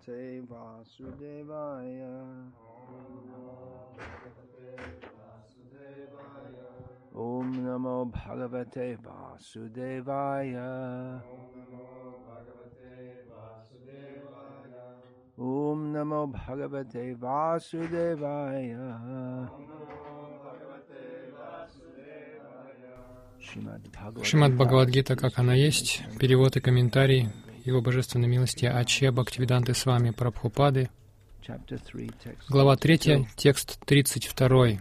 Vasudevaya. Om Namo Bhagavate Vasudevaya. Om Namo Bhagavate Vasudevaya. Шримад Бхагавад-гита, как она есть, перевод и комментарий Его Божественной милости Аче Бхактивиданты Свами Прабхупады, глава 3, текст 32.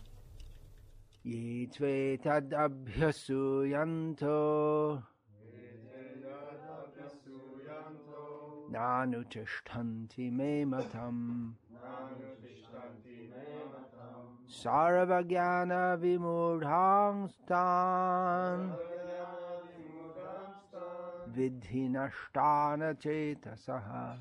Sarvajnana vimudhangstan vidhi nashtana chetasaha.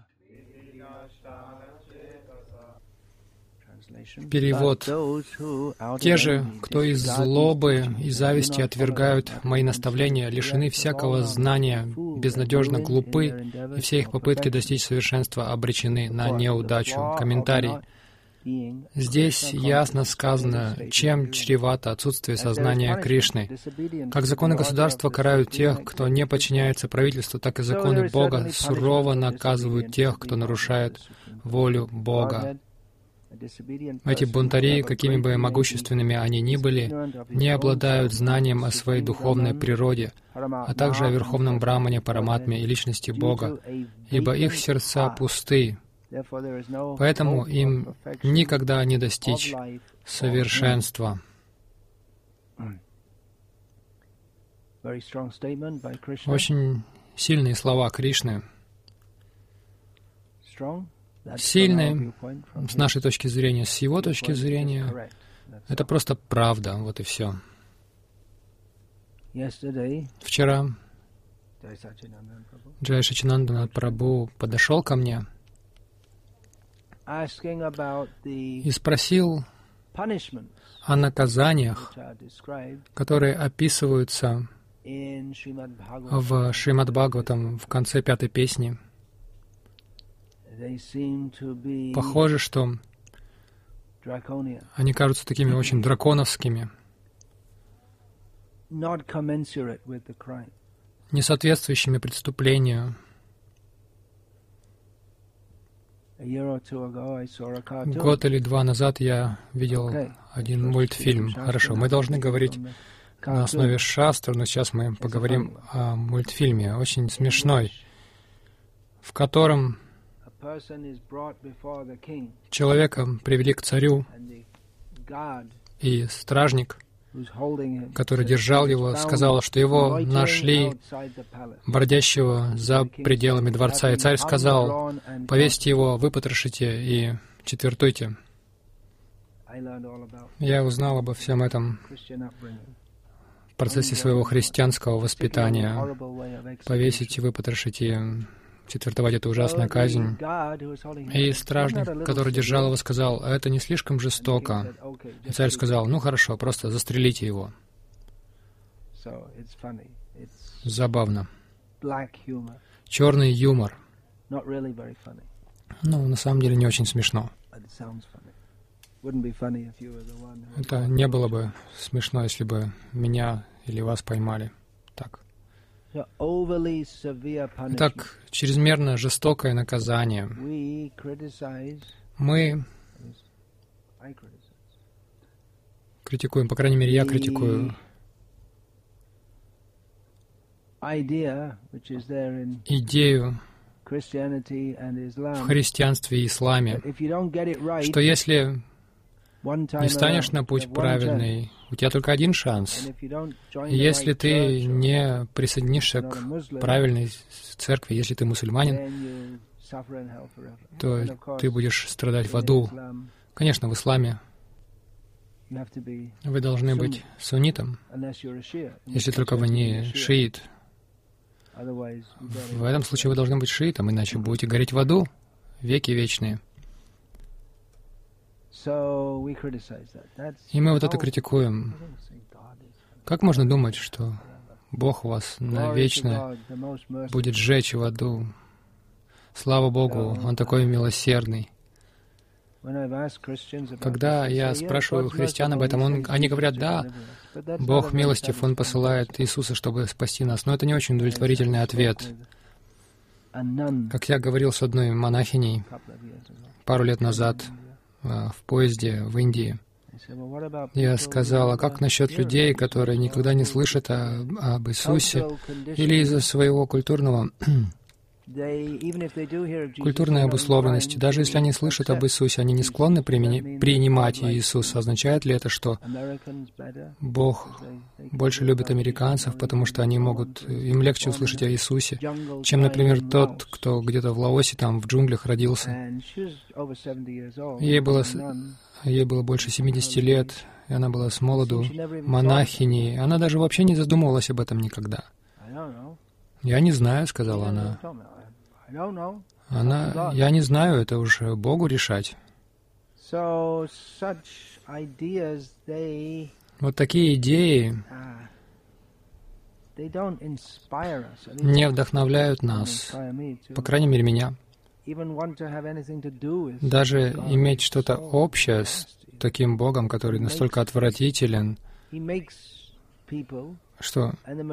Перевод. Те же, кто из злобы и зависти отвергают мои наставления, лишены всякого знания, безнадежно глупы, и все их попытки достичь совершенства обречены на неудачу. Комментарий. Здесь ясно сказано, чем чревато отсутствие сознания Кришны. Как законы государства карают тех, кто не подчиняется правительству, так и законы Бога сурово наказывают тех, кто нарушает волю Бога. Эти бунтари, какими бы могущественными они ни были, не обладают знанием о своей духовной природе, а также о Верховном Брамане, Параматме и Личности Бога, ибо их сердца пусты. Поэтому им никогда не достичь совершенства. Очень сильные слова Кришны. Сильные с нашей точки зрения, с его точки зрения. Это просто правда, вот и все. Вчера Джай Сачинандана Прабху подошел ко мне и спросил о наказаниях, которые описываются в Шримад Бхагаватам в конце 5-й песни. Похоже, что они кажутся такими очень драконовскими, не соответствующими преступлению. Год или два назад я видел один мультфильм. Хорошо, мы должны говорить на основе шастр, но сейчас мы поговорим о мультфильме, очень смешной, в котором человека привели к царю, и стражник, который держал его, сказал, что его нашли бродящего за пределами дворца. И царь сказал: повесьте его, выпотрошите и четвертуйте. Я узнал обо всем этом в процессе своего христианского воспитания. Повесить, выпотрошить и четвертовать — это ужасная казнь. И стражник, который держал его, сказал: это не слишком жестоко. И царь сказал: ну хорошо, просто застрелите его. Забавно. Черный юмор. Ну, на самом деле не очень смешно. Это не было бы смешно, если бы меня или вас поймали так. Итак, чрезмерно жестокое наказание. Мы критикуем, по крайней мере, я критикую идею в христианстве и исламе, что если не станешь на путь правильный, у тебя только один шанс. Если ты не присоединишься к правильной церкви, если ты мусульманин, то ты будешь страдать в аду. Конечно, в исламе вы должны быть суннитом, если только вы не шиит. В этом случае вы должны быть шиитом, иначе будете гореть в аду веки вечные. И мы вот это критикуем. Как можно думать, что Бог вас навечно будет сжечь в аду? Слава Богу, Он такой милосердный. Когда я спрашиваю христиан об этом, они говорят, да, Бог милостив, Он посылает Иисуса, чтобы спасти нас. Но это не очень удовлетворительный ответ. Как я говорил с одной монахиней пару лет назад в поезде в Индии, я сказал, а как насчет людей, которые никогда не слышат об Иисусе или из-за своего культурной обусловленности, даже если они слышат об Иисусе, они не склонны принимать Иисуса. Означает ли это, что Бог больше любит американцев, потому что им легче услышать о Иисусе, чем, например, тот, кто где-то в Лаосе, там, в джунглях родился? Ей было больше 70 лет, и она была с молоду монахиней. Она даже вообще не задумывалась об этом никогда. «Я не знаю», — сказала она. «Я не знаю, это уж Богу решать». Вот такие идеи не вдохновляют нас, по крайней мере, меня. Даже иметь что-то общее с таким Богом, который настолько отвратителен, что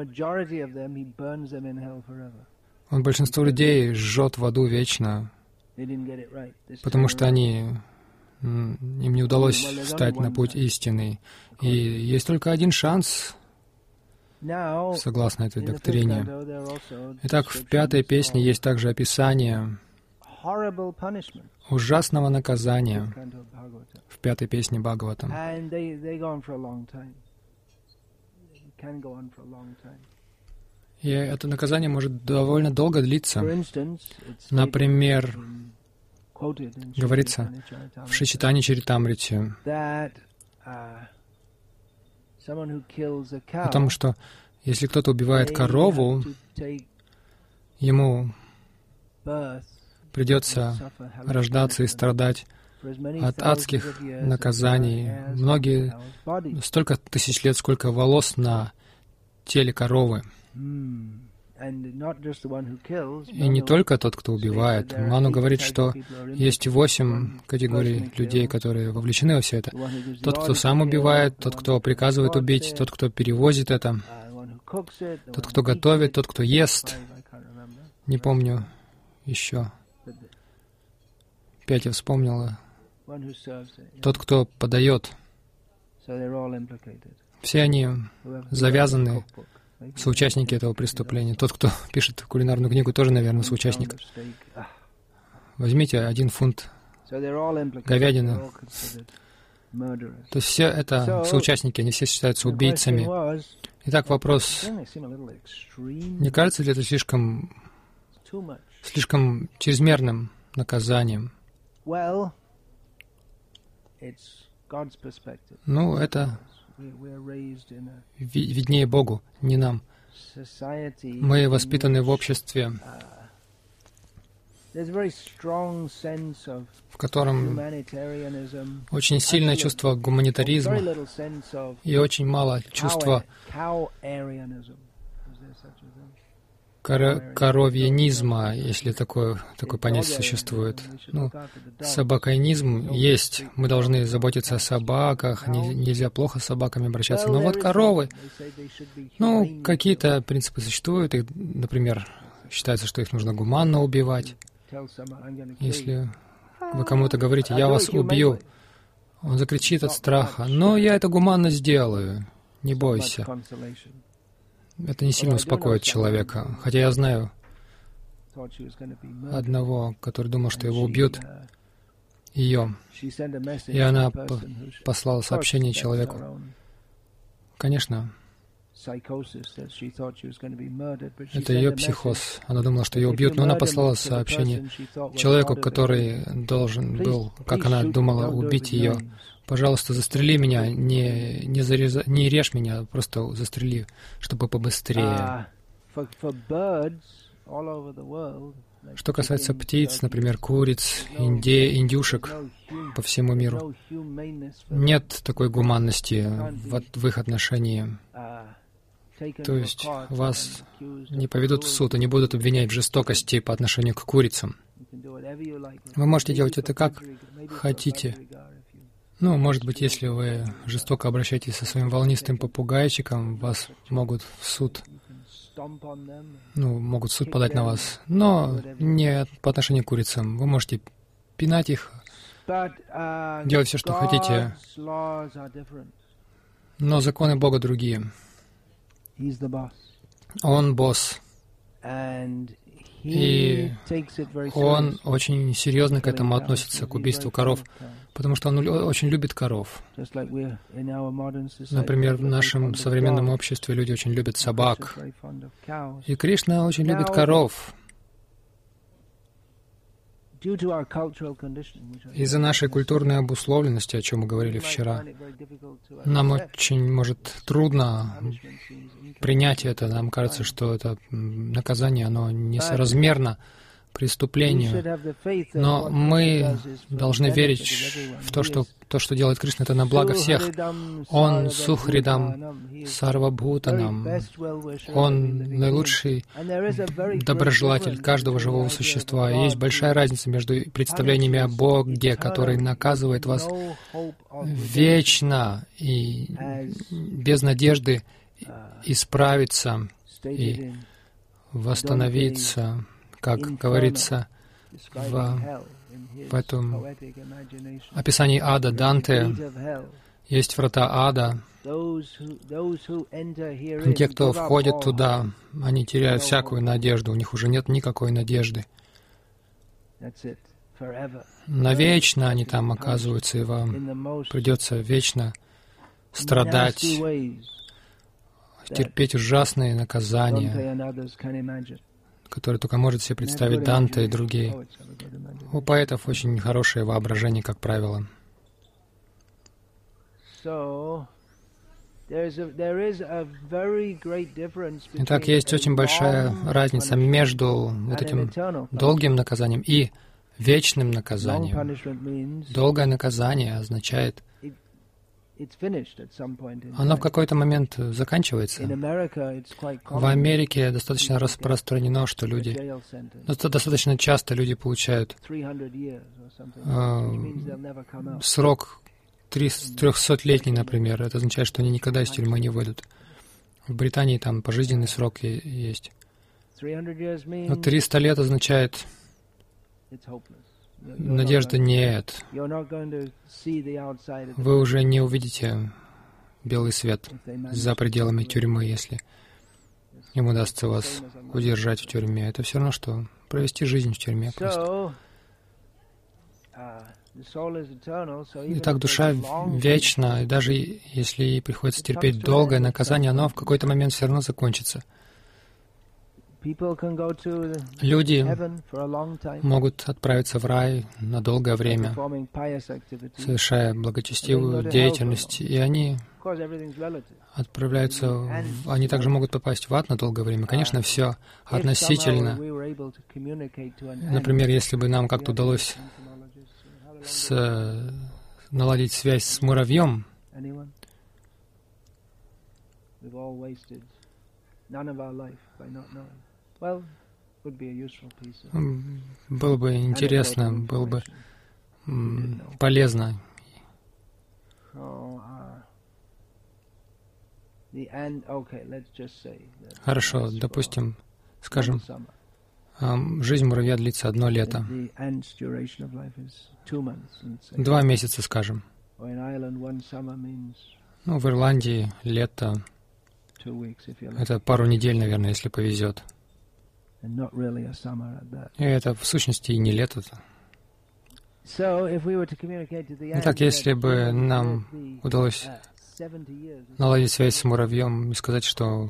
Он большинство людей жжет в аду вечно, потому что им не удалось встать на путь истины. И есть только один шанс, согласно этой доктрине. Итак, в 5-й песне есть также описание ужасного наказания в 5-й песне Бхагаватам. И это наказание может довольно долго длиться. Например, говорится в Шичитани Чаритамрите о том, что если кто-то убивает корову, ему придется рождаться и страдать от адских наказаний. Столько тысяч лет, сколько волос на теле коровы. И не только тот, кто убивает. Ману говорит, что есть 8 категорий людей, которые вовлечены во все это. Тот, кто сам убивает, тот, кто приказывает убить, тот, кто перевозит это, тот, кто готовит, тот, кто ест. Не помню еще. 5 я вспомнила. Тот, кто подает. Все они завязаны, соучастники этого преступления. Тот, кто пишет кулинарную книгу, тоже, наверное, соучастник. Возьмите 1 фунт говядины. То есть все это соучастники, они все считаются убийцами. Итак, вопрос. Не кажется ли это слишком чрезмерным наказанием? Ну, это виднее Богу, не нам. Мы воспитаны в обществе, в котором очень сильное чувство гуманитаризма и очень мало чувства коровьянизма, если такое понятие существует. Ну, собакоинизм есть. Мы должны заботиться о собаках, нельзя плохо с собаками обращаться. Но вот коровы, какие-то принципы существуют. И, например, считается, что их нужно гуманно убивать. Если вы кому-то говорите, я вас убью, он закричит от страха, но я это гуманно сделаю, не бойся. Это не сильно успокоит человека. Хотя я знаю одного, который думал, что его убьют, ее. И она послала сообщение человеку. Конечно, это ее психоз. Она думала, что ее убьют, но она послала сообщение человеку, который должен был, как она думала, убить ее. Пожалуйста, застрели меня, не режь меня, просто застрели, чтобы побыстрее. Что касается птиц, например, куриц, индюшек по всему миру, нет такой гуманности в их отношении. То есть вас не поведут в суд и не будут обвинять в жестокости по отношению к курицам. Вы можете делать это как хотите. Ну, может быть, если вы жестоко обращаетесь со своим волнистым попугайчиком, вас могут в суд, могут в суд подать на вас, но не по отношению к курицам. Вы можете пинать их, делать все, что хотите, но законы Бога другие. Он босс. И он очень серьезно к этому относится, к убийству коров, потому что он очень любит коров. Например, в нашем современном обществе люди очень любят собак. И Кришна очень любит коров. Из-за нашей культурной обусловленности, о чем мы говорили вчера, нам очень, может, трудно принять это. Нам кажется, что это наказание, оно несоразмерно преступлению. Но мы должны верить в то, что делает Кришна, это на благо всех. Он Сухридам, Сарвабхутанам. Он наилучший доброжелатель каждого живого существа. И есть большая разница между представлениями о Боге, который наказывает вас вечно и без надежды исправиться и восстановиться, как говорится в этом описании ада Данте, есть врата ада. И те, кто входит туда, они теряют всякую надежду, у них уже нет никакой надежды. Навечно они там оказываются, и вам придется вечно страдать, терпеть ужасные наказания, которые только может себе представить Данте и другие. У поэтов очень хорошее воображение, как правило. Итак, есть очень большая разница между вот этим долгим наказанием и вечным наказанием. Долгое наказание означает, оно в какой-то момент заканчивается. В Америке достаточно распространено, что люди, достаточно часто люди получают срок 300-летний, например. Это означает, что они никогда из тюрьмы не выйдут. В Британии там пожизненный срок есть. Но 300 лет означает, надежды нет. Вы уже не увидите белый свет за пределами тюрьмы, если им удастся вас удержать в тюрьме. Это все равно, что провести жизнь в тюрьме просто. Итак, душа вечна, и даже если ей приходится терпеть долгое наказание, оно в какой-то момент все равно закончится. Люди могут отправиться в рай на долгое время, совершая благочестивую деятельность, и они отправляются, они также могут попасть в ад на долгое время. Конечно, все относительно. Например, если бы нам как-то удалось наладить связь с муравьем, было бы интересно, было бы полезно. Хорошо, допустим, скажем, жизнь муравья длится 1 лето. 2 месяца, скажем. Ну, в Ирландии лето — это пару недель, наверное, если повезет. И это, в сущности, и не лето. Итак, если бы нам удалось наладить связь с муравьем и сказать, что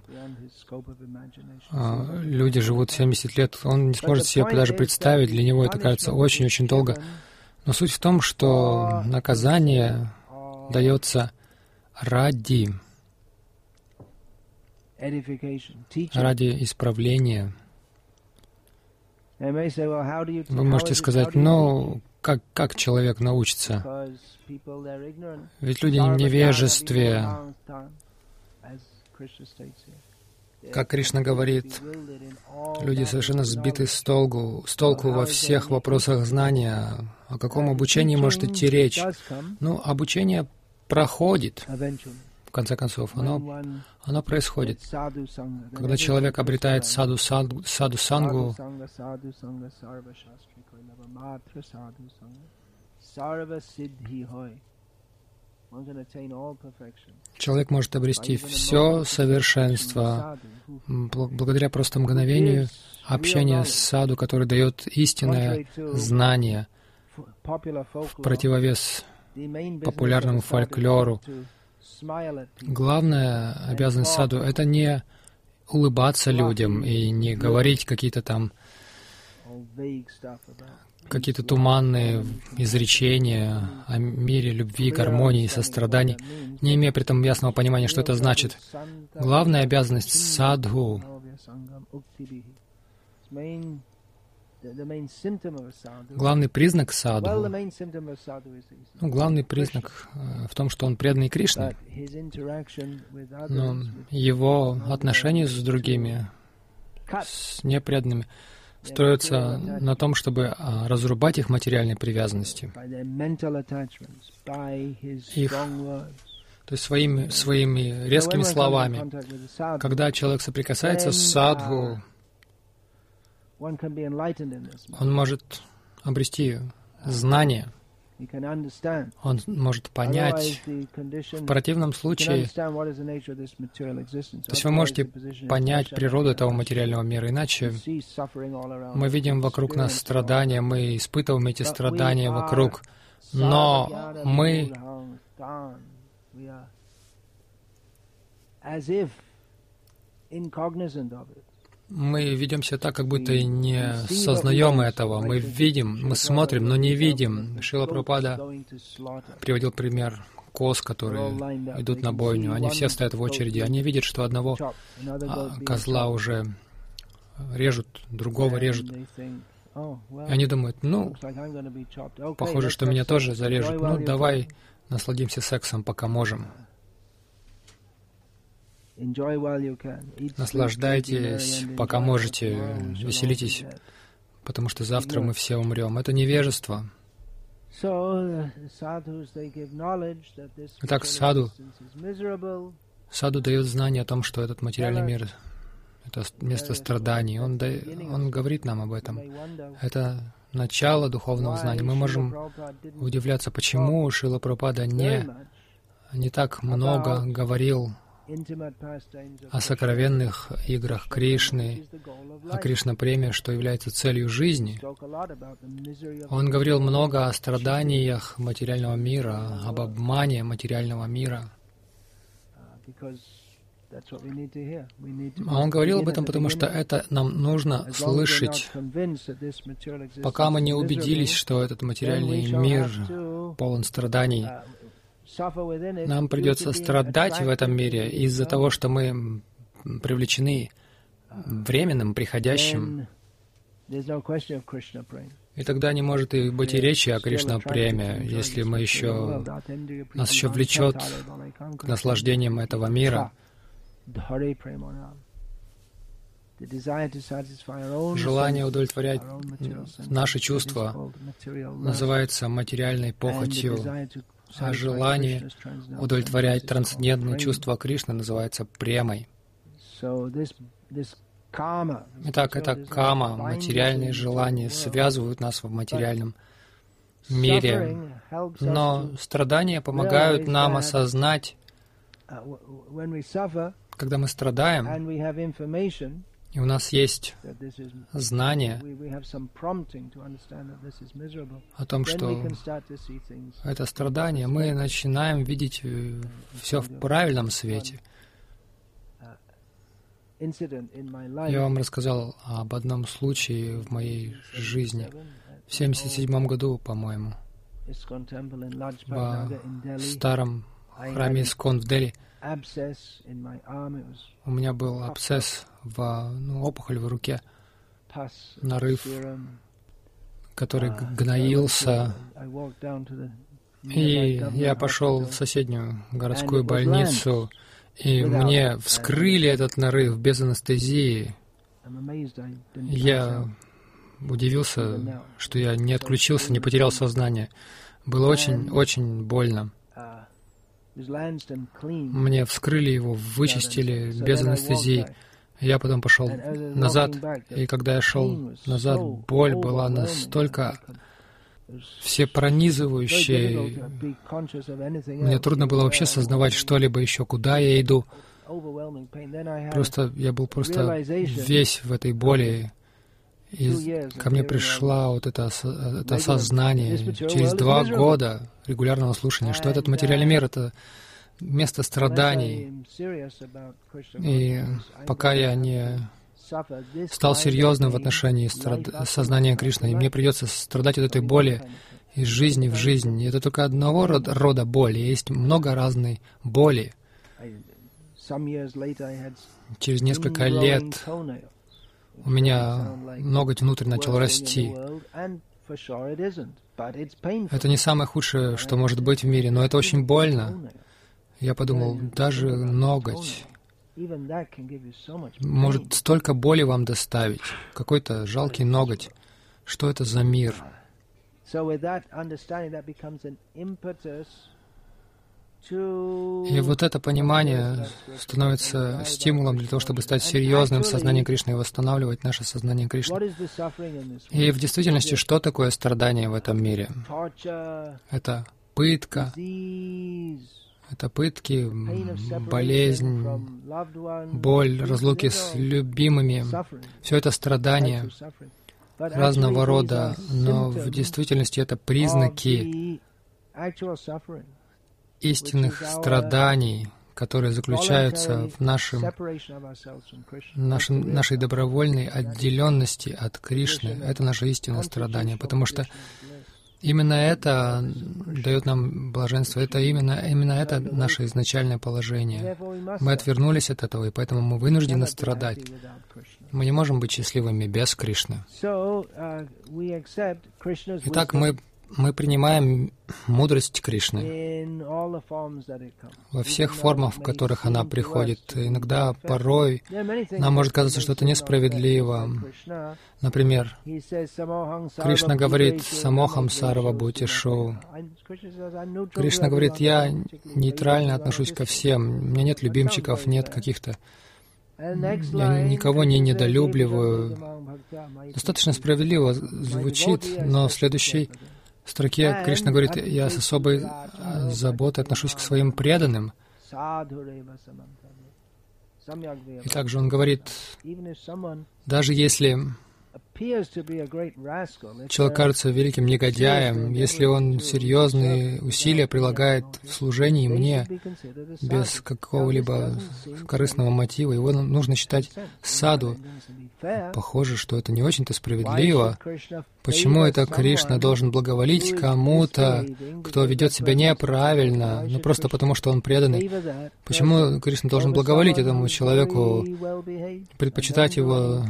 люди живут 70 лет, он не сможет себе даже представить, для него это кажется очень-очень долго. Но суть в том, что наказание дается ради исправления. Вы можете сказать, ну, как человек научится? Ведь люди в невежестве. Как Кришна говорит, люди совершенно сбиты с толку во всех вопросах знания. О каком обучении может идти речь? Ну, обучение проходит, в конце концов, оно происходит. Когда человек обретает саду-сангу, человек может обрести все совершенство благодаря просто мгновению общения с саду, который дает истинное знание в противовес популярному фольклору. Главная обязанность саду — это не улыбаться людям и не говорить какие-то туманные изречения о мире, любви, гармонии, сострадании, не имея при этом ясного понимания, что это значит. Главная обязанность садху, главный признак садху, главный признак в том, что он преданный Кришне, но его отношения с другими, с непреданными, строятся на том, чтобы разрубать их материальные привязанности, то есть своими резкими словами. Когда человек соприкасается с садху, он может обрести знание, он может понять. В противном случае, то есть вы можете понять природу этого материального мира, иначе мы видим вокруг нас страдания, мы испытываем эти страдания вокруг, но мы ведем себя так, как будто и не сознаем этого. Мы видим, мы смотрим, но не видим. Шрила Прабхупада приводил пример коз, которые идут на бойню. Они все стоят в очереди. Они видят, что одного козла уже режут, другого режут. И они думают, похоже, что меня тоже зарежут. Давай насладимся сексом, пока можем. Наслаждайтесь, пока можете, веселитесь, потому что завтра мы все умрем. Это невежество. Итак, саду дает знание о том, что этот материальный мир — это место страданий. Он говорит нам об этом. Это начало духовного знания. Мы можем удивляться, почему Шрила Прабхупада не так много говорил о сокровенных играх Кришны, о Кришна-преме, что является целью жизни. Он говорил много о страданиях материального мира, об обмане материального мира. А он говорил об этом, потому что это нам нужно слышать. Пока мы не убедились, что этот материальный мир полон страданий, нам придется страдать в этом мире из-за того, что мы привлечены временным, приходящим. И тогда не может и быть и речи о Кришна-преме, если нас еще влечет к наслаждениям этого мира. Желание удовлетворять наши чувства называется материальной похотью, а желание удовлетворять трансцендентные чувства Кришны называется премой. Итак, это кама, материальные желания связывают нас в материальном мире, но страдания помогают нам осознать, когда мы страдаем, и у нас есть знание о том, что это страдание, мы начинаем видеть все в правильном свете. Я вам рассказал об одном случае в моей жизни. В 1977 году, по-моему, в старом храме Искон в Дели. У меня был абсцесс, опухоль в руке, нарыв, который гноился. И я пошел в соседнюю городскую больницу, И мне вскрыли этот нарыв без анестезии. Я удивился, что я не отключился, не потерял сознание. Было очень больно. Мне вскрыли его, вычистили без анестезии. Я потом пошел назад, и когда я шел назад, боль была настолько всепронизывающей. Мне трудно было вообще сознавать что-либо еще, куда я иду. Я был просто весь в этой боли. И ко мне пришло вот это осознание через 2 года регулярного слушания, что этот материальный мир — это место страданий. И пока я не стал серьезным в отношении сознания Кришны, и мне придется страдать от этой боли из жизни в жизнь. И это только одного рода боли. Есть много разной боли. Через несколько лет у меня ноготь внутрь начал расти. Это не самое худшее, что может быть в мире, но это очень больно. Я подумал, даже ноготь может столько боли вам доставить. Какой-то жалкий ноготь. Что это за мир? И вот это понимание становится стимулом для того, чтобы стать серьезным в сознании Кришны и восстанавливать наше сознание Кришны. И в действительности, что такое страдание в этом мире? Это пытка, это пытки, болезнь, боль, разлуки с любимыми. Все это страдания разного рода, но в действительности это признаки истинных страданий, которые заключаются в нашей добровольной отделенности от Кришны. Это наше истинное страдание, потому что именно это дает нам блаженство, именно это наше изначальное положение. Мы отвернулись от этого, и поэтому мы вынуждены страдать. Мы не можем быть счастливыми без Кришны. Итак, мы принимаем мудрость Кришны во всех формах, в которых она приходит. Иногда, порой, нам может казаться, что это несправедливо. Например, Кришна говорит «Самохам сарва бхутишу». Кришна говорит, я нейтрально отношусь ко всем. У меня нет любимчиков, нет каких-то... Я никого не недолюбливаю. Достаточно справедливо звучит, но в следующей строке Кришна говорит, я с особой заботой отношусь к своим преданным. И также он говорит, даже если человек кажется великим негодяем, если он серьезные усилия прилагает в служении мне без какого-либо корыстного мотива, его нужно считать саду. Похоже, что это не очень-то справедливо. Почему это Кришна должен благоволить кому-то, кто ведет себя неправильно, просто потому, что он преданный? Почему Кришна должен благоволить этому человеку, предпочитать его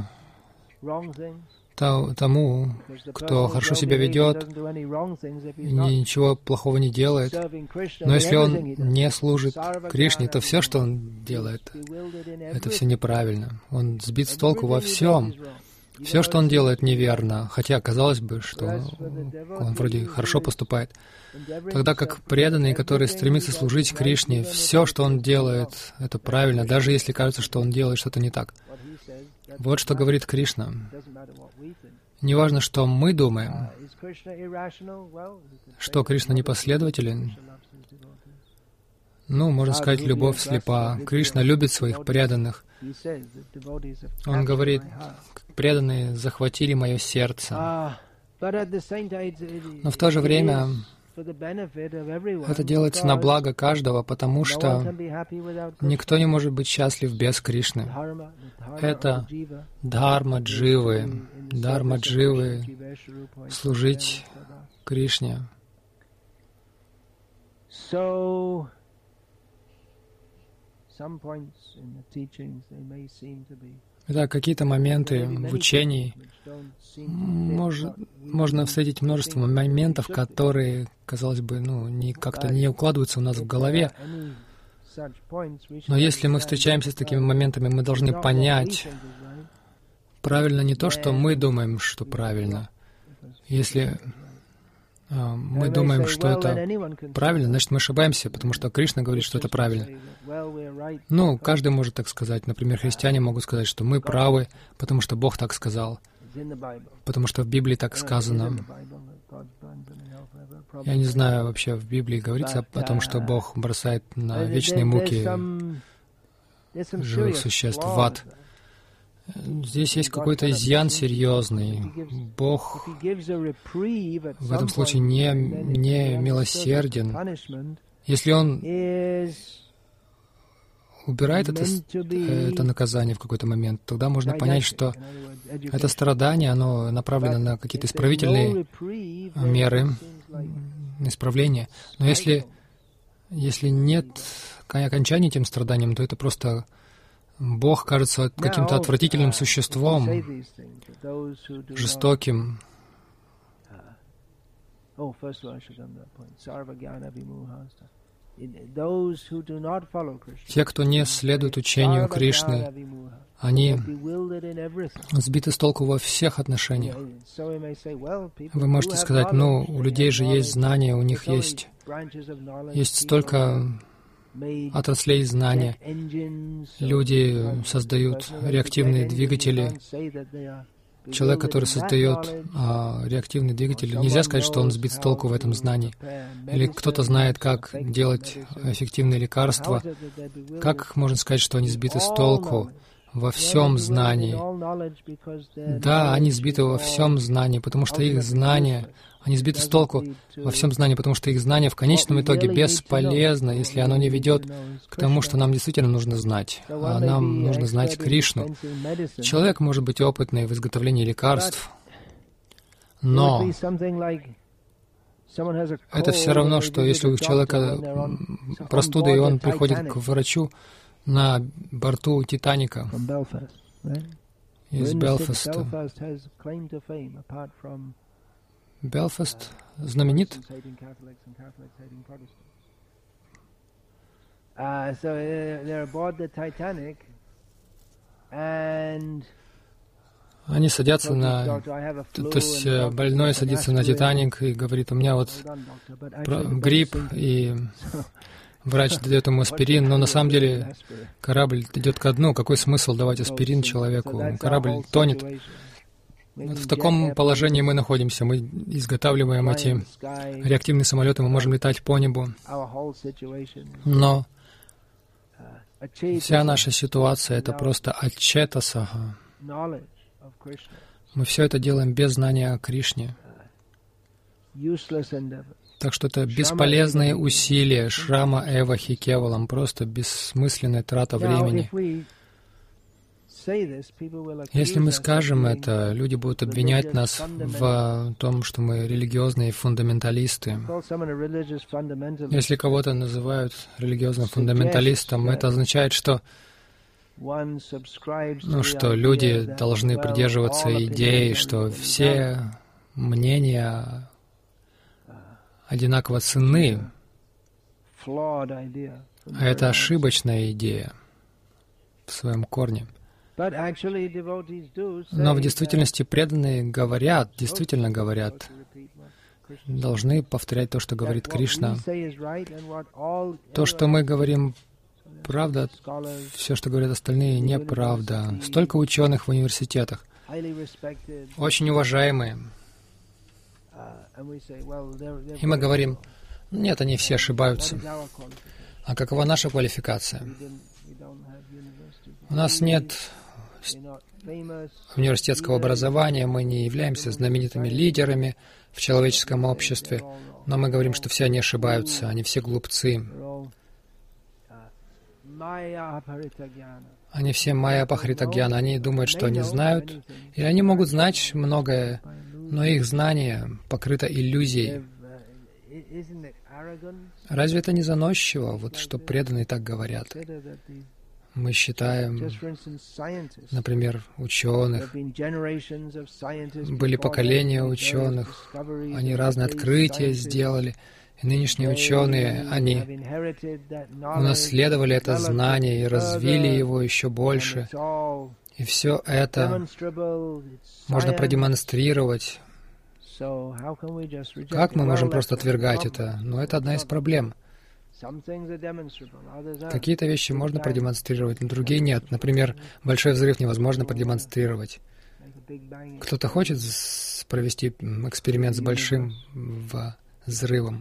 тому, кто хорошо себя ведет, ничего плохого не делает. Но если он не служит Кришне, то все, что он делает, это все неправильно. Он сбит с толку во всем. Все, что он делает, неверно, хотя казалось бы, что он вроде хорошо поступает. Тогда как преданный, который стремится служить Кришне, все, что он делает, это правильно, даже если кажется, что он делает что-то не так. Вот что говорит Кришна. Неважно, что мы думаем, что Кришна непоследователен. Можно сказать, любовь слепа. Кришна любит своих преданных. Он говорит, преданные захватили мое сердце. Но в то же время это делается на благо каждого, потому что никто не может быть счастлив без Кришны. Это дхарма дживы, служить Кришне. Итак, какие-то моменты в учении можно встретить множество моментов, которые, казалось бы, как-то не укладываются у нас в голове. Но если мы встречаемся с такими моментами, мы должны понять, правильно не то, что мы думаем, что правильно. Если мы думаем, что это правильно, значит, мы ошибаемся, потому что Кришна говорит, что это правильно. Ну, каждый может так сказать. Например, христиане могут сказать, что мы правы, потому что Бог так сказал, потому что в Библии так сказано. Я не знаю, вообще в Библии говорится о том, что Бог бросает на вечные муки живых существ в ад. Здесь есть какой-то изъян серьезный. Бог в этом случае не милосерден. Если Он убирает это наказание в какой-то момент, тогда можно понять, что это страдание, оно направлено на какие-то исправительные меры, исправления. Но если нет окончания этим страданиям, то это просто Бог кажется каким-то отвратительным существом, жестоким. Те, кто не следует учению Кришны, они сбиты с толку во всех отношениях. Вы можете сказать, ну, у людей же есть знания, у них есть столько отраслей знания. Люди создают реактивные двигатели. Человек, который создает реактивный двигатель, нельзя сказать, что он сбит с толку в этом знании. Или кто-то знает, как делать эффективные лекарства. Как можно сказать, что они сбиты с толку во всем знании? Да, они сбиты во всем знании, потому что их знания, они сбиты с толку во всем знании, потому что их знание в конечном итоге бесполезно, если оно не ведет к тому, что нам действительно нужно знать. А нам нужно знать Кришну. Человек может быть опытный в изготовлении лекарств, но это все равно, что если у человека простуда, и он приходит к врачу на борту Титаника из Белфаста. Белфаст знаменит. Они садятся то есть больной садится на Титаник и говорит, у меня вот грипп, и врач дает ему аспирин, но на самом деле корабль идет ко дну. Какой смысл давать аспирин человеку? Корабль тонет. Вот в таком положении мы находимся. Мы изготавливаем эти реактивные самолеты, мы можем летать по небу. Но вся наша ситуация — это просто ачета-сага. Мы все это делаем без знания о Кришне. Так что это бесполезные усилия, шрама эва хи кевалам, просто бессмысленная трата времени. Если мы скажем это, люди будут обвинять нас в том, что мы религиозные фундаменталисты. Если кого-то называют религиозным фундаменталистом, это означает, что люди должны придерживаться идеи, что все мнения одинаково ценны. А это ошибочная идея в своем корне. Но в действительности преданные действительно говорят, должны повторять то, что говорит Кришна. То, что мы говорим, правда, все, что говорят остальные, неправда. Столько ученых в университетах, очень уважаемые. И мы говорим, нет, они все ошибаются. А какова наша квалификация? У нас нет университетского образования, мы не являемся знаменитыми лидерами в человеческом обществе, но мы говорим, что все они ошибаются, они все глупцы. Они все майя апахритагьяна, они думают, что они знают, или они могут знать многое, но их знание покрыто иллюзией. Разве это не заносчиво, вот что преданные так говорят? Мы считаем, например, ученых. Были поколения ученых, они разные открытия сделали. И нынешние ученые, они унаследовали это знание и развили его еще больше. И все это можно продемонстрировать. Как мы можем просто отвергать это? Но это одна из проблем. Какие-то вещи можно продемонстрировать, но другие нет. Например, большой взрыв невозможно продемонстрировать. Кто-то хочет провести эксперимент с большим взрывом,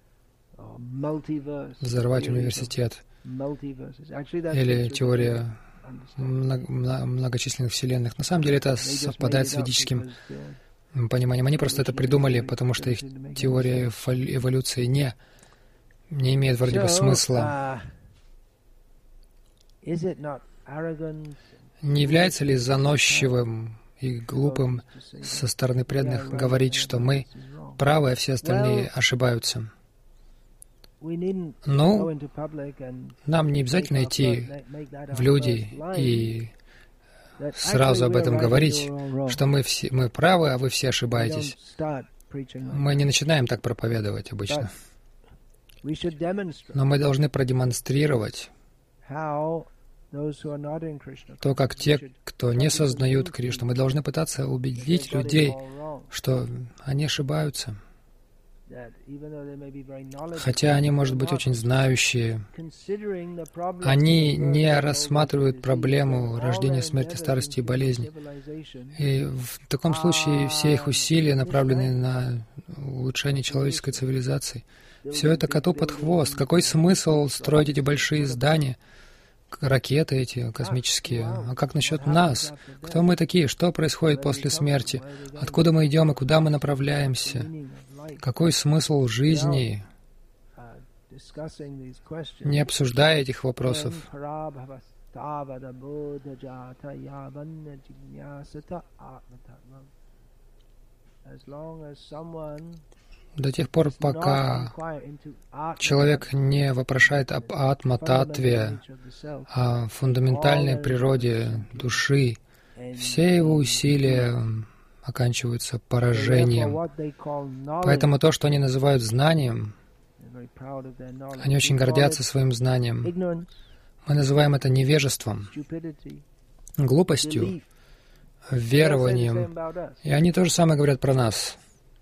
взорвать университет, или теория многочисленных вселенных. На самом деле это совпадает с ведическим пониманием. Они просто это придумали, потому что их теория эволюции не имеет вроде бы смысла. Не является ли заносчивым и глупым со стороны преданных говорить, что мы правы, а все остальные ошибаются? Ну, нам не обязательно идти в люди и сразу об этом говорить, что мы правы, а вы все ошибаетесь. Мы не начинаем так проповедовать обычно. Но мы должны продемонстрировать то, как те, кто не сознают Кришну, мы должны пытаться убедить людей, что они ошибаются. Хотя они, может быть, очень знающие, они не рассматривают проблему рождения, смерти, старости и болезни. И в таком случае все их усилия направлены на улучшение человеческой цивилизации. Все это коту под хвост. Какой смысл строить эти большие здания, ракеты эти космические? А как насчет нас? Кто мы такие? Что происходит после смерти? Откуда мы идем и куда мы направляемся? Какой смысл жизни, не обсуждая этих вопросов? До тех пор, пока человек не вопрошает об атма-татве, о фундаментальной природе души, все его усилия оканчиваются поражением. Поэтому то, что они называют знанием, они очень гордятся своим знанием. Мы называем это невежеством, глупостью, верованием. И они то же самое говорят про нас.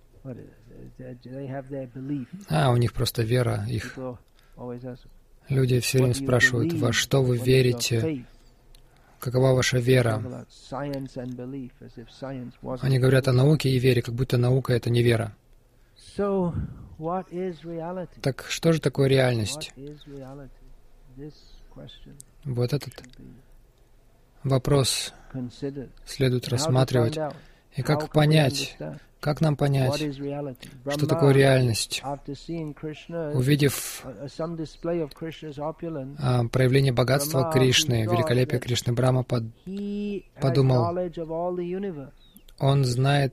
У них просто вера их. Люди все время спрашивают, во что вы верите? Какова ваша вера? Они говорят о науке и вере, как будто наука — это не вера. Так что же такое реальность? Вот этот вопрос следует рассматривать. И как понять, как нам понять, что такое реальность? Увидев проявление богатства Кришны, великолепие Кришны, Брахма подумал, он знает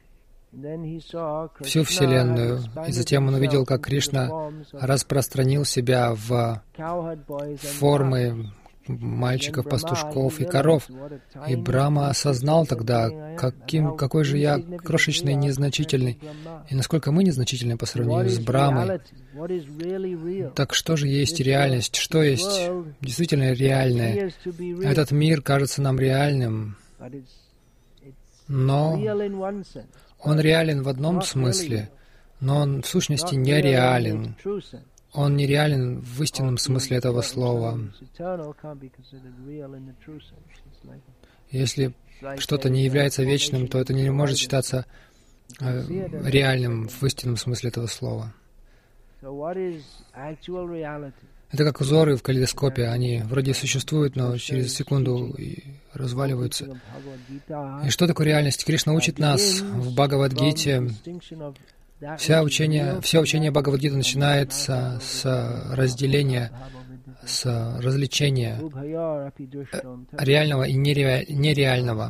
всю Вселенную. И затем он увидел, как Кришна распространил себя в формы мальчиков, пастушков и коров. И Брахма осознал тогда, какой же я крошечный, незначительный, и насколько мы незначительны по сравнению с Брахмой. Так что же есть реальность? Что есть действительно реальное? Этот мир кажется нам реальным, но он реален в одном смысле, но он в сущности нереален. Он нереален в истинном смысле этого слова. Если что-то не является вечным, то это не может считаться реальным в истинном смысле этого слова. Это как узоры в калейдоскопе. Они вроде существуют, но через секунду разваливаются. И что такое реальность? Кришна учит нас в Бхагавад-гите. Все учение Бхагавад-гиты начинается с разделения, с развлечения реального и нереального.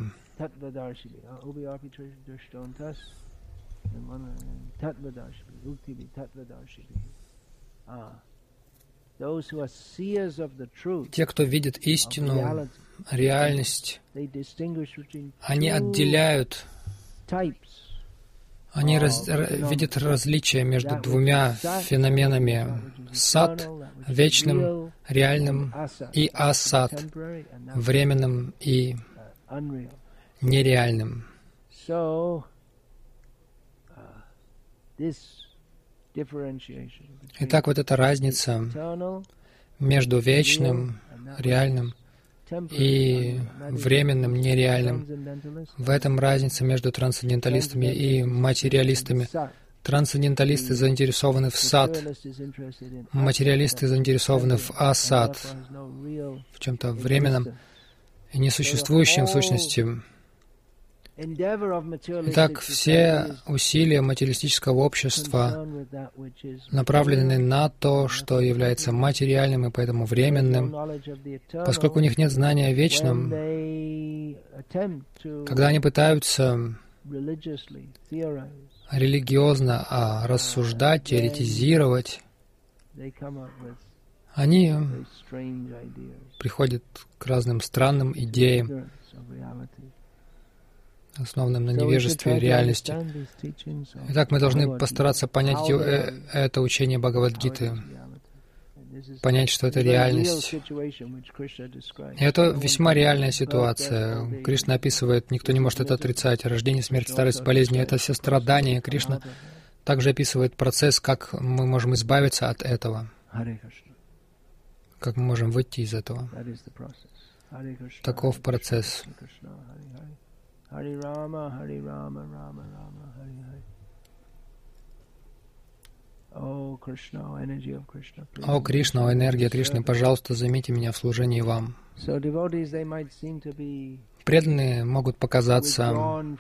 Те, кто видит истину, реальность, они отделяют, они видят различия между двумя феноменами — сат, вечным, реальным, и асат, временным и нереальным. Итак, вот эта разница между вечным, реальным и временным, нереальным. В этом разница между трансценденталистами и материалистами. Трансценденталисты заинтересованы в сат, материалисты заинтересованы в асат, в чем-то временном и несуществующем в сущности. Итак, все усилия материалистического общества направлены на то, что является материальным и поэтому временным. Поскольку у них нет знания о вечном, когда они пытаются религиозно рассуждать, теоретизировать, они приходят к разным странным идеям, основанным на невежестве реальности. Итак, мы должны постараться понять это учение Бхагавад-гиты, понять, что это реальность. И это весьма реальная ситуация. Кришна описывает, никто не может это отрицать, рождение, смерть, старость, болезни — это все страдания. Кришна также описывает процесс, как мы можем избавиться от этого, как мы можем выйти из этого. Таков процесс. Хари Рама, Хари Рама, Рама Рама, Хари Хари. О Кришна, энергия Кришны, пожалуйста, займите меня в служении вам. Преданные могут показаться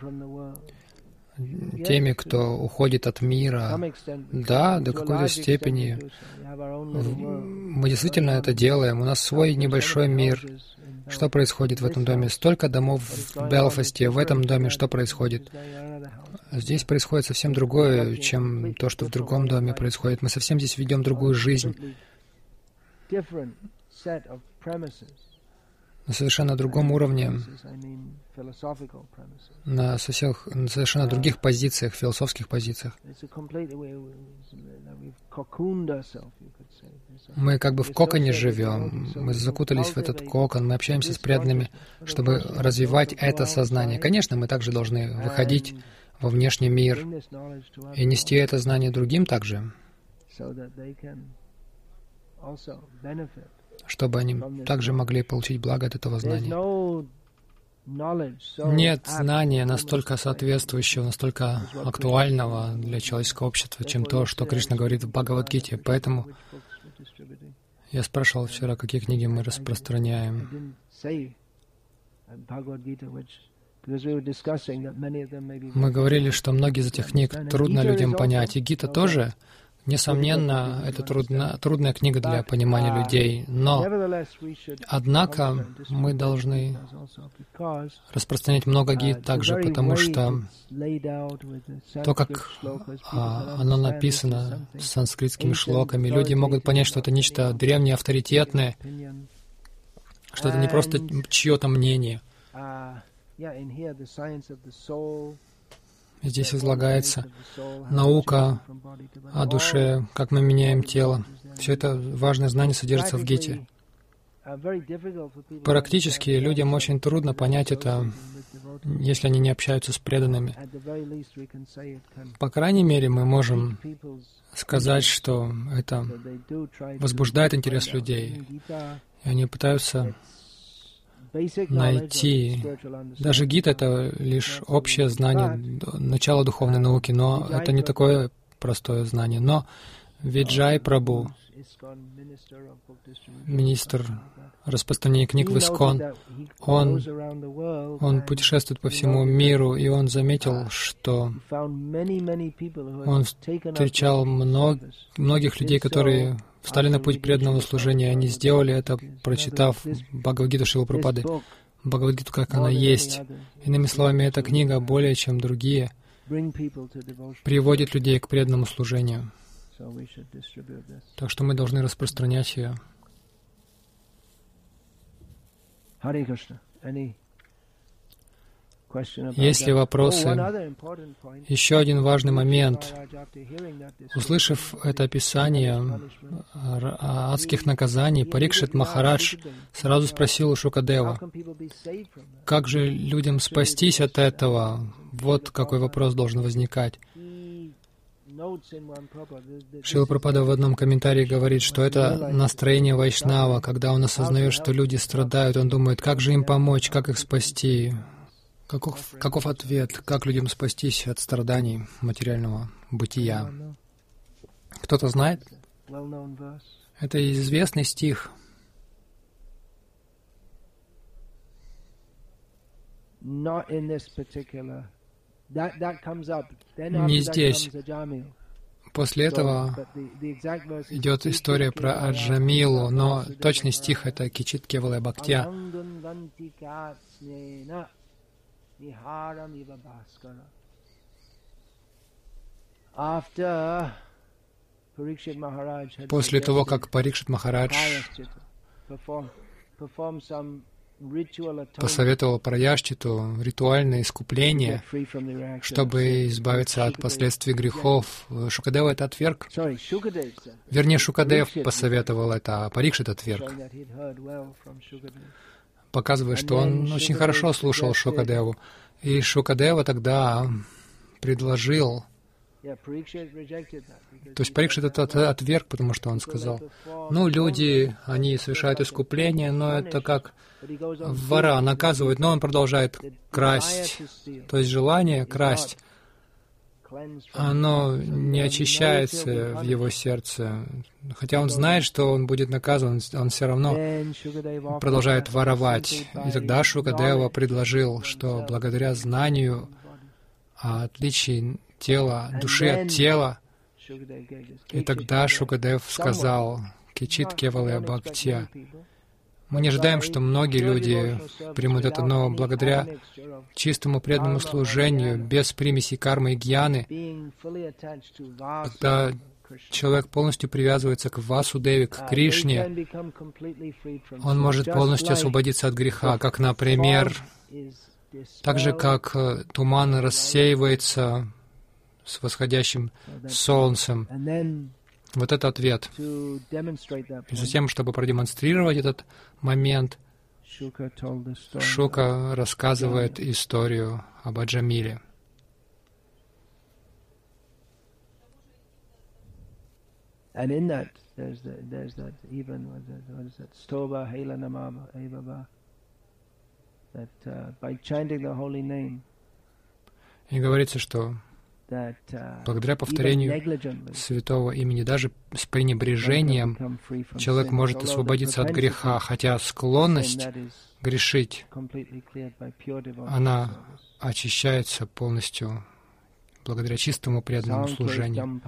теми, кто уходит от мира. Да, до какой-то степени. Мы действительно это делаем. У нас свой небольшой мир. Что происходит в этом доме? Столько домов в Белфасте. В этом доме что происходит? Здесь происходит совсем другое, чем то, что в другом доме происходит. Мы совсем здесь ведем другую жизнь. На совершенно другом уровне, на совершенно других позициях, философских позициях. Мы как бы в коконе живем, мы закутались в этот кокон, мы общаемся с преданными, чтобы развивать это сознание. Конечно, мы также должны выходить во внешний мир и нести это знание другим также, чтобы они также могли получить благо от этого знания. Нет знания настолько соответствующего, настолько актуального для человеческого общества, чем то, что Кришна говорит в Бхагавад-гите. Поэтому я спрашивал вчера, какие книги мы распространяем. Мы говорили, что многие из этих книг трудно людям понять, и Гита тоже. Несомненно, это трудная книга для понимания людей, но, однако, мы должны распространять много гит также, потому что то, как оно написано санскритскими шлоками, люди могут понять, что это нечто древнее, авторитетное, что это не просто чье-то мнение. Здесь излагается наука о душе, как мы меняем тело. Все это важное знание содержится в Гите. Практически людям очень трудно понять это, если они не общаются с преданными. По крайней мере, мы можем сказать, что это возбуждает интерес людей, и они пытаются найти. Даже Гита — это лишь общее знание, начало духовной науки, но это не такое простое знание. Но Виджай Прабху, министр распространения книг в Искон, он путешествует по всему миру, и он заметил, что он встречал многих людей, которые встали на путь преданного служения. Они сделали это, прочитав Бхагавад-гиту Шрилы Прабхупады, Бхагавад-гиту, как она есть. Иными словами, эта книга, более чем другие, приводит людей к преданному служению. Так что мы должны распространять ее. Hare Krishna. Any question about Есть ли that? вопросы? One other important point. Еще один важный момент. Maharaj, after hearing that this Услышав это описание адских наказаний, Парикшит Махарадж сразу спросил у how Шукадева, can people be saved from that? как же людям спастись от этого? Вот какой вопрос должен возникать. He notes in one Prabhupada, Шрила Прабхупада в одном комментарии говорит, что это настроение Вайшнава. Когда он осознает, что люди страдают, он думает, как же им помочь, как их спасти. Каков ответ, как людям спастись от страданий материального бытия? Кто-то знает? well-known verse. Это известный стих. Not in this particular. That comes up. Then Не after that здесь. comes Ajamil. После этого But the exact verse is идет история про Аджамилу, но точный стих — это Кичит Кевалая Бхактия. После того, как Парикшит Махарадж посоветовал Праяшчиту ритуальное искупление, чтобы избавиться от последствий грехов, Шукадева это отверг. Вернее, Шукадев посоветовал это, а Парикшит отверг, показывая, что он очень хорошо слушал Шукадеву. И Шукадева тогда предложил, то есть Парикшит это отверг, потому что он сказал, ну, люди, они совершают искупление, но это как вора наказывают, но он продолжает красть. То есть желание красть, оно не очищается в его сердце. Хотя он знает, что он будет наказан, он все равно продолжает воровать. И тогда Шукадева предложил, что благодаря знанию о отличии тела, души от тела, и тогда Шукадев сказал «Кичит Кевалая Бхактия». Мы не ожидаем, что многие люди примут это, но благодаря чистому преданному служению, без примесей кармы и гьяны, когда человек полностью привязывается к Васудеве, к Кришне, он может полностью освободиться от греха, как, например, так же, как туман рассеивается с восходящим солнцем. Вот это ответ. И затем, чтобы продемонстрировать этот момент, Шука рассказывает историю об Аджамиле. And in that, there's that even what is that? Stoba Helanamama Evava. That by chanting the holy name. И говорится, что благодаря повторению святого имени, даже с пренебрежением, человек может освободиться от греха, хотя склонность грешить, она очищается полностью благодаря чистому преданному служению.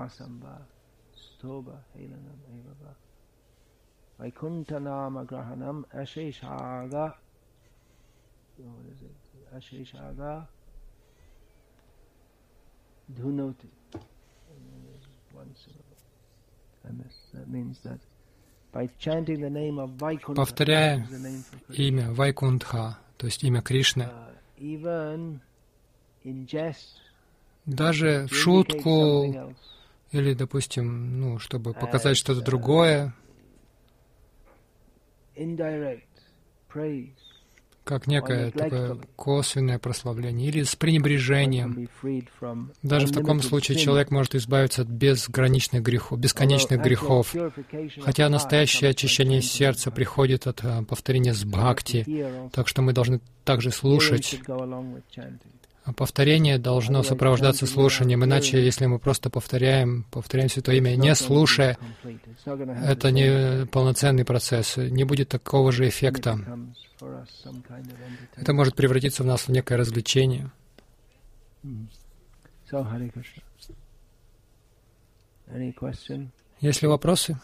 Dhunoti. Повторяя имя Вайкунтха, то есть имя Кришны, даже в шутку или, допустим, ну, чтобы показать что-то другое, как некое такое косвенное прославление, или с пренебрежением. Даже в таком случае человек может избавиться от безграничных грехов, бесконечных грехов. Хотя настоящее очищение сердца приходит от повторения с бхакти, так что мы должны также слушать. Повторение должно сопровождаться слушанием, иначе, если мы просто повторяем Святое Имя, не слушая, это не полноценный процесс, не будет такого же эффекта. Это может превратиться в нас в некое развлечение. Есть ли вопросы?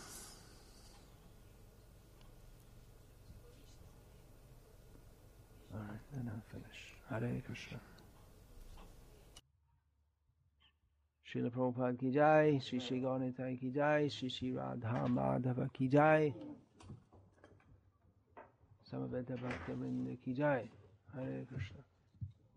Srila Prabhupada ki jai, Shri Shri Gauranitai ki jai, Shri Shri Radha Madhava ki jai, Samaveta Bhakta Vrinda ki jai. Hare Krishna.